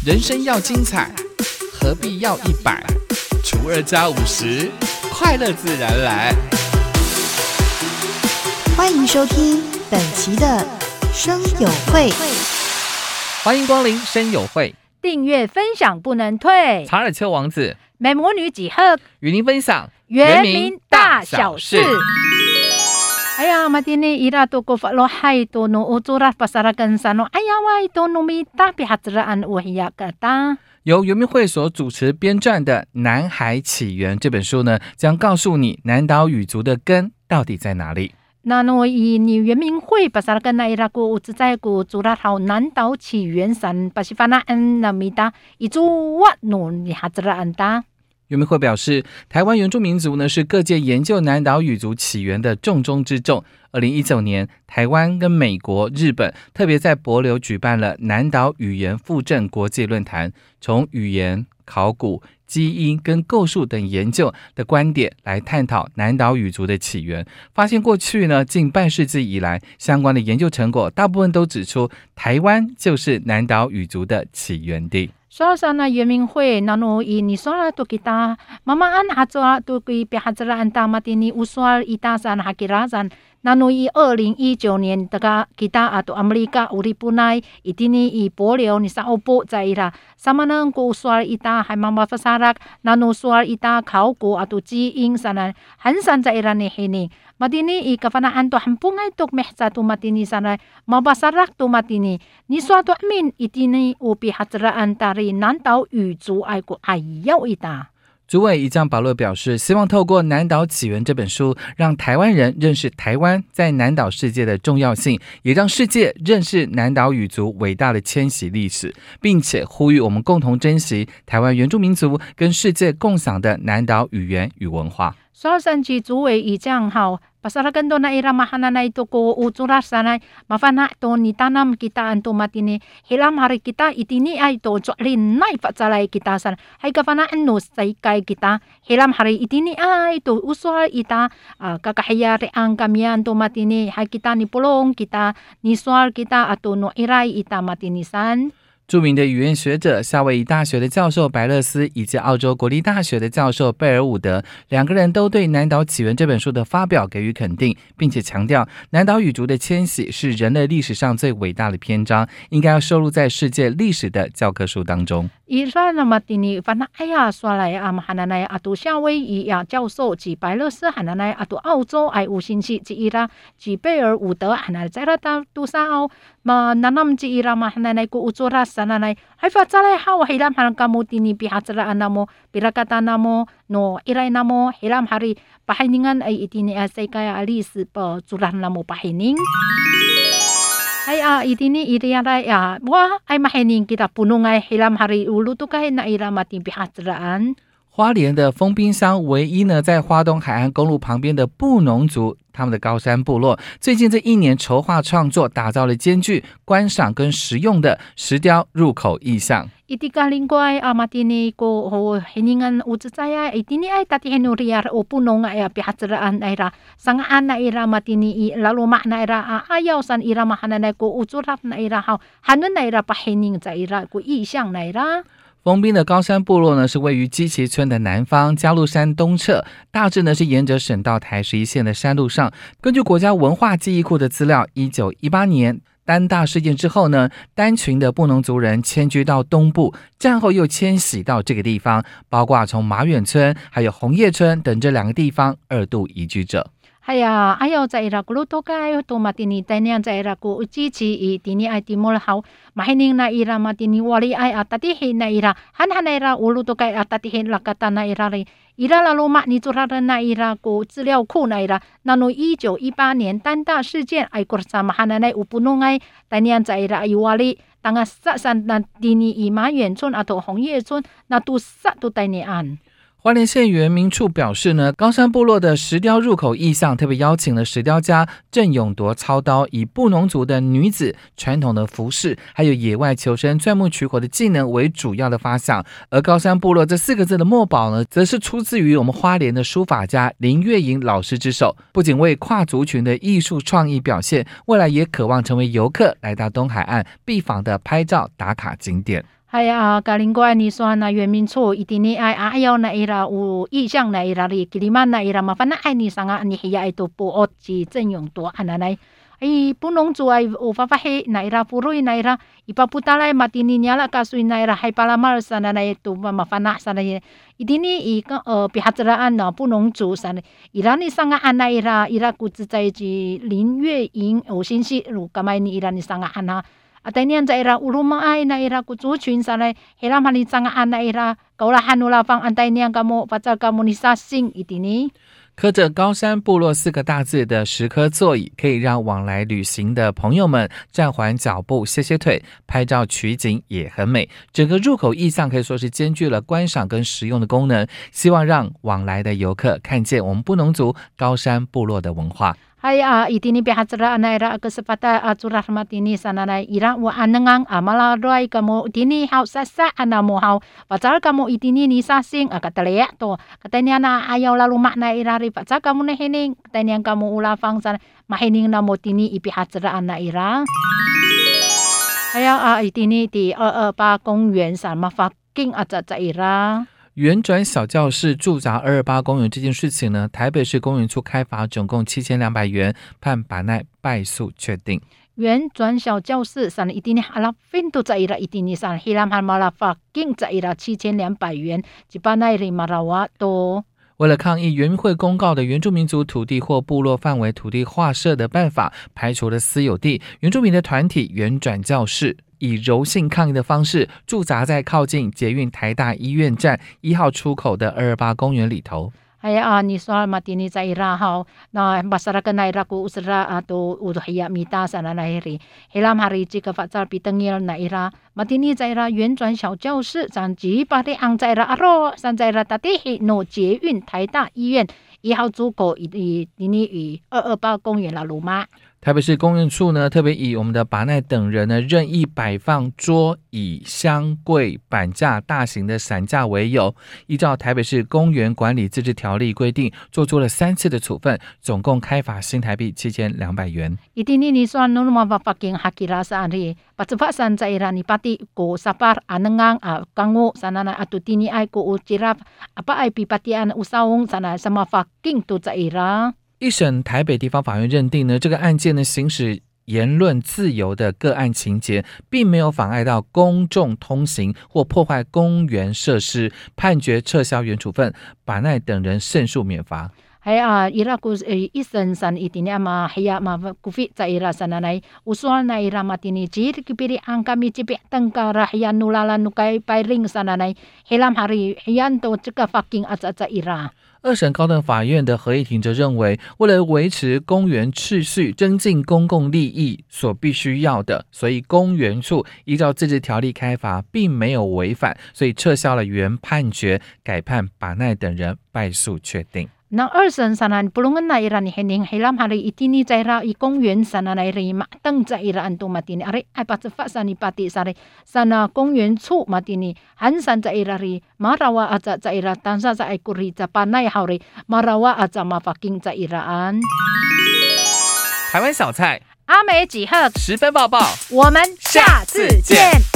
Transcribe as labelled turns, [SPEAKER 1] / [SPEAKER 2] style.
[SPEAKER 1] 人生要精彩，何必要100？除2加50，快乐自然来。
[SPEAKER 2] 欢迎收听本期的声友会，
[SPEAKER 1] 欢迎光临声友会，
[SPEAKER 3] 订阅分享不能退。
[SPEAKER 1] 查尔丘王子、
[SPEAKER 3] 美魔女几何
[SPEAKER 1] 与您分享
[SPEAKER 3] 原民大小事。Aya matini ira to ko falo hai to no uturat pasarakan sano aya wai to no mita pihatraan wahya kata。
[SPEAKER 1] 由原民会所主持编撰的《南海起源》这本书呢，将告诉你南岛语族的根到底在哪里。
[SPEAKER 3] 那no ini原民会pasarakan na ira ko utzai ko zurat hau 南岛起源san pasifanaan na mita itu wat no pihatraan ta。
[SPEAKER 1] 原民会表示，台湾原住民族呢是各界研究南岛语族起源的重中之重。2019年，台湾跟美国、日本特别在帛琉举办了南岛语言复振国际论坛，从语言、考古、基因跟构树等研究的观点来探讨南岛语族的起源。发现过去呢近半世纪以来，相关的研究成果大部分都指出，台湾就是南岛语族的起源地。
[SPEAKER 3] Soal sana原民会nano ini soal tu kita mamaan hatsoal tu kui pihatraan tamat ini usual itasan hakirasan nano i 2019年daga kita atau Amerika uripunai itini i polio ni sa opo zaira sama nang ko usual ita hai mama fasarak nano usual ita khauko atau jiing sana hansan zaira ni hini matini i kafanaan to hampungai tok mehsa tu matini sana mabasarak tu matini ni suatu amin itini upi hatraan tari南岛语族爱国爱要一打。
[SPEAKER 1] 主委一将保罗表示，希望透过《南岛起源》这本书，让台湾人认识台湾在南岛世界的重要性，也让世界认识南岛语族伟大的迁徙历史，并且呼吁我们共同珍惜台湾原住民族跟世界共享的南岛语言与文化。
[SPEAKER 3] soal sanji 主委一将好。Pasarakan to na ira mahana na ito ko uturas sanay mafana to ni tanam kita anto matini hilam hari kita itini ay to joklin na ipatsalay kita san hay kafana ano say kay kita hilam hari itini ay to usual ita kakahiyari ang kamiyan to matini hay kita ni pulong kita ni sual kita ato no iray ita matini san。
[SPEAKER 1] 著名的语言学者夏威夷大学的教授白勒斯以及澳洲国立大学的教授贝尔伍德，两个人都对《南岛起源》这本书的发表给予肯定，并且强调南岛语族的迁徙是人类历史上最伟大的篇章，应该要收录在世界历史的教科书当中。
[SPEAKER 3] Ira namat ini fana aya swalay hananay ato 夏威夷呀教授及白勒斯hananay ato 澳洲ay usinsi ci ira ci 贝尔伍德hananay zara ta tusao ma nanam ci ira ma hananay ko uturas sananay hay fatsalay hawa hilam hanan kamu tini pihatraan namo pirakata namo no iray namo hilam hari pahiningan ay itini asay kaya alis pa tsuran namo pahining ay itini iriyaray wa ay mahining kita punungay hilam hari uluto kahit na ira mating pihatraan。
[SPEAKER 1] 花莲的丰滨乡唯一呢在花东海岸公路旁边的布农族，他们的高山部落最近这1年筹划创作，打造了兼具观赏跟实用的石雕入口意象。
[SPEAKER 3] Itikalinggay matini ko hiningan utsaya itini ay tatihinuriar o punong ay pihatraan ay ra sangaan na ira matini laluma na ira ayaw san ira mahananay ko utsurap na ira hanun na ira pahining sa ira ko isang na ira。
[SPEAKER 1] 丰滨的高山部落呢是位于基奇村的南方，嘉鹿山东侧，大致呢是沿着省道台11线的山路上。根据国家文化记忆库的资料，1918年丹大事件之后呢，单群的布农族人迁居到东部，战后又迁徙到这个地方，包括从马远村还有红叶村等这2个地方2度移居者。
[SPEAKER 3] Haya ayaw sa ira kuluto kayo to matini tanyan sa ira ko uchichi itini ay timol haw mahining na ira matini wali ay atatihin na ira hanhan ira uluto kay atatihin lakata na ira ira laluma ni turaran na ira ko 资料库na ira nano 1918年丹大事件ay kursamahan na upunungay tanyan sa ira ay wali tanga sa san na dini i马远村 ato 红叶村 na tu sa tu tanian。
[SPEAKER 1] 花莲县原民处表示呢，高山部落的石雕入口意象特别邀请了石雕家郑永铎操刀，以布农族的女子传统的服饰，还有野外求生、钻木取火的技能为主要的发想。而高山部落这4个字的墨宝呢，则是出自于我们花莲的书法家林月莹老师之手，不仅为跨族群的艺术创意表现，未来也渴望成为游客来到东海岸必访的拍照打卡景点。
[SPEAKER 3] 还有格林怪你说那原民处一定你爱要那伊拉有意向那伊拉里吉里曼那伊拉嘛，反正爱你上啊，你还都不恶之正用多安那来。不农族ay ufafahe na ira puroi na ira ipaputalay matini nyala kasoy na ira hay palamar sana na ito mafana sana idini pihatraan na 不农族 sana ira ni sanga ana ira ku zai ji 林月营有信息如kamay ni ira ni sanga ana atay niyan sa ira uluma ay na ira ku族群 sana helam hali sanga ana ira kaulahan ulafang antay niyan kamo pacal komunisasing idini
[SPEAKER 1] 刻着高山部落4个大字的10颗座椅，可以让往来旅行的朋友们暂缓脚步歇歇腿，拍照取景也很美。整个入口意象可以说是兼具了观赏跟实用的功能，希望让往来的游客看见我们布农族高山部落的文化。
[SPEAKER 3] Hay itini bihatsara na ira kesepata curah matini sana na ira wa anengang malaroy kamo itini hau sasa ana mo hau pacal kamo itini ni sasing katalea to katanya na ayaw lalu makna ira ri pacal kamo na hining katanya kamo ulafang sana mahining na mo tini ibihatsara na ira Hay itini ti pa 公园 sa mafaking atsa ira
[SPEAKER 1] 原转小教室驻扎228公园这件事情呢，台北市公园处开罚总共7200元，判把奈败诉确定。
[SPEAKER 3] 原转小教室 sana itini halapin to sa ira itini sana hilam malafaking sa ira 7200元 jipanay ri marawa to
[SPEAKER 1] 为了抗议原民会公告的原住民族土地或部落范围土地划设的办法，排除了私有地，原住民的团体原转教室以柔性抗议的方式驻扎在靠近捷运台大医院站1号出口的228公园里头。
[SPEAKER 3] ni soal matini sa ira hau na masyarakat na ira ku usra atau udhaya mita sana na iri helam hari jika fatsal pitengil na ira matini sa ira 原转小教室 san ji pare ang sa ira aro san sa ira tatihi no 捷运台大医院1号出口ini 与228公园 lalu ma
[SPEAKER 1] 台北市公园处呢，特别以我们的把奈等人呢任意摆放桌椅、箱柜、板架、大型的伞架为由，依照台北市公园管理自治条例规定，做出了3次的处分，总共开罚新台币7200元。
[SPEAKER 3] Itini ni soan no mapapaking hakira sa ari patsapasan sa ira ni pati ko sapar anengang kango sana na atutini ay ko uchirap apa ay pipatian usawong sana sa mafaking to sa ira。
[SPEAKER 1] 一审台北地方法院认定呢，这个案件呢行使言论自由的个案情节，并没有妨碍到公众通行或破坏公园设施，判决撤销原处分，把奈等人胜诉免罚。
[SPEAKER 3] ira ku isan san itini ama haya ma kufi sa ira sana nay usual na ira matini jir kipiri ang kami cipi tengkara haya nulala nukai pairing sana nay helam hari hayan to cika fucking atsa ira。
[SPEAKER 1] 二审高等法院的合议庭则认为，为了维持公园秩序、增进公共利益所必须要的，所以公园处依照自治条例开罚，并没有违反，所以撤销了原判决，改判把奈等人败诉确定。
[SPEAKER 3] Na arsan sana pulungan na ira ni hening helam hari itini caira i 公园 sana na ira matang caira anto matini ari ay patsefa sani pati sari sana 公园处 matini hansan caira ri marawa aca caira tansa sa ay kuri ca panay hari marawa aca mafaking cairaan。
[SPEAKER 1] 台湾小菜
[SPEAKER 3] 阿美几何
[SPEAKER 1] 10分爆爆，
[SPEAKER 3] 我们下次见。